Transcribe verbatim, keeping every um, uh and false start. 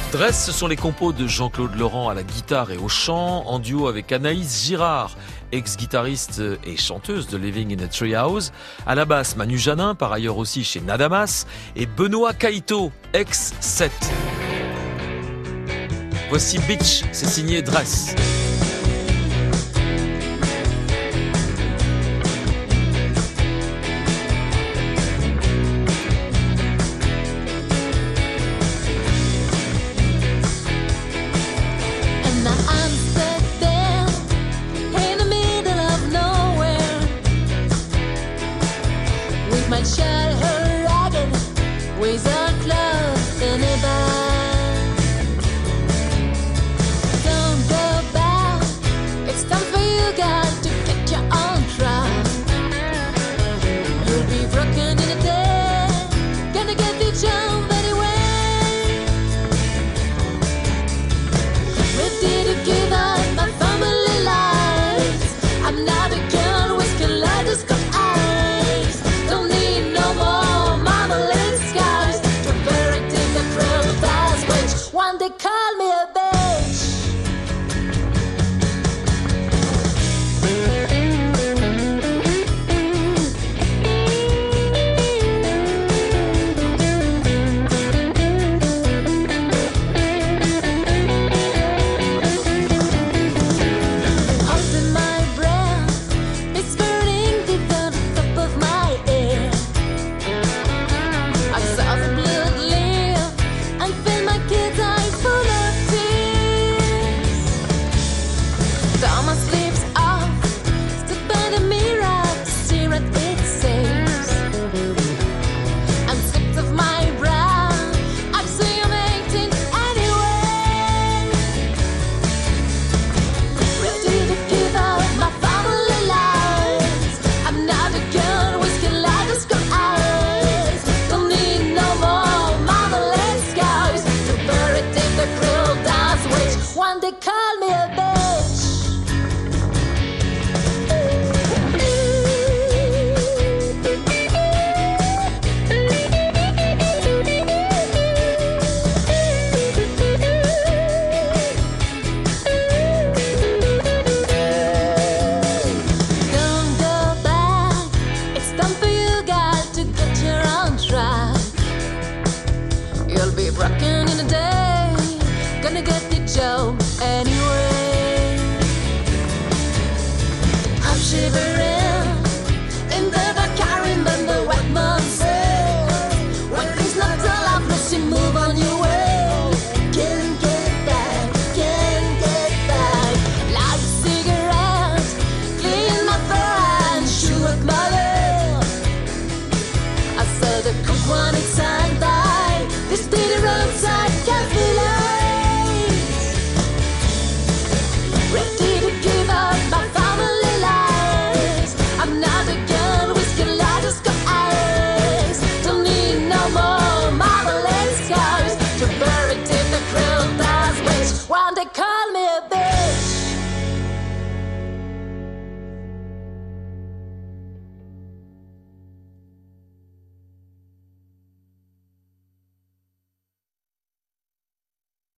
Dress, ce sont les compos de Jean-Claude Laurent à la guitare et au chant, en duo avec Anaïs Girard, ex-guitariste et chanteuse de Living in a Treehouse, à la basse Manu Janin, par ailleurs aussi chez Nadamas, et Benoît Caïto, ex-sept. Voici Bitch, c'est signé Dress. My child, her ragged ways are closed in a bag. Don't go back, it's time for you guys to get your own track. You'll be broken in a day, gonna get the job anyway. Ready to give up my family life. I'm not a girl with kaleidoscope eyes. Don't need no more marmalade skies to bury in the cruel past, which one day call me a bitch. Holding my breath, it's burning deep down the top of my ear. I saw the blood live and filled my kid's eyes full of tears. Thomas sleeps off, stood by the mirror to see what it says. I'm slipped off my brow, I'm saying I'm eighteen anyway. Ready to give up my family lives. I'm not a girl with kaleidoscope eyes. Don't need no more marmalade skies to bury in the cruel dance, which one day call me a bitch. Don't go back, it's time for you guys to get your own track. You'll be broken in a day, gonna get the job anyway. I'm shivering in the dark, I remember what mom said. When things not alive, let's move on your way. Can't get back, can't get back. Light a cigarette, clean my throat and chew up my lip. I said the cook one